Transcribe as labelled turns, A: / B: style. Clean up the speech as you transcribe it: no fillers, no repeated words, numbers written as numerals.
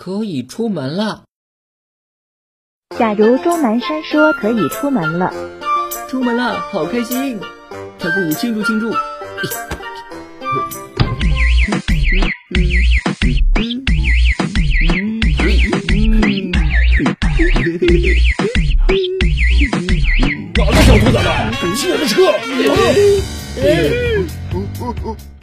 A: 可以出门了。
B: 假如钟南山说可以出门了，
A: 出门了，好开心！还不庆祝庆祝！
C: 哪个小兔崽子？骑我的车！